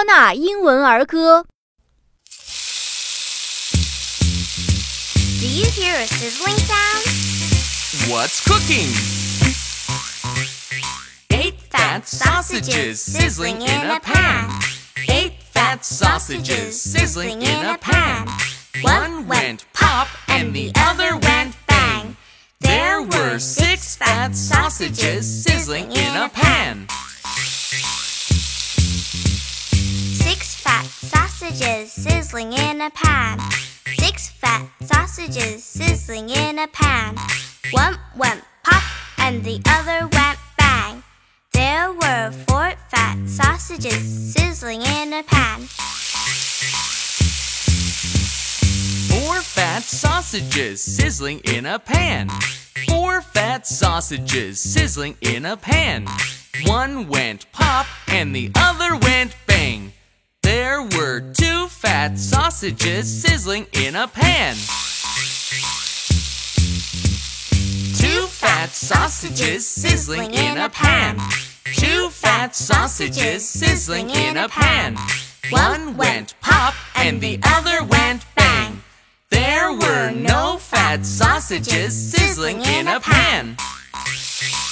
托纳英文儿歌。 Do you hear a sizzling sound? What's cooking? 8 fat sausages sizzling in a pan. 8 fat sausages sizzling in a pan. One went pop and the other went bang. There were 6 fat sausages sizzling in a pan. 6 fat sausages sizzling in a pan. 6 fat sausages sizzling in a pan. One went pop and the other went bang. There were 4 fat sausages sizzling in a pan. 4 fat sausages sizzling in a pan. 4 fat sausages sizzling in a pan. One went pop and the other went bang. There were 2 fat sausages sizzling in a pan. 2 fat sausages sizzling in a pan. 2 fat sausages sizzling in a pan. One went pop and the other went bang. There were no fat sausages sizzling in a pan.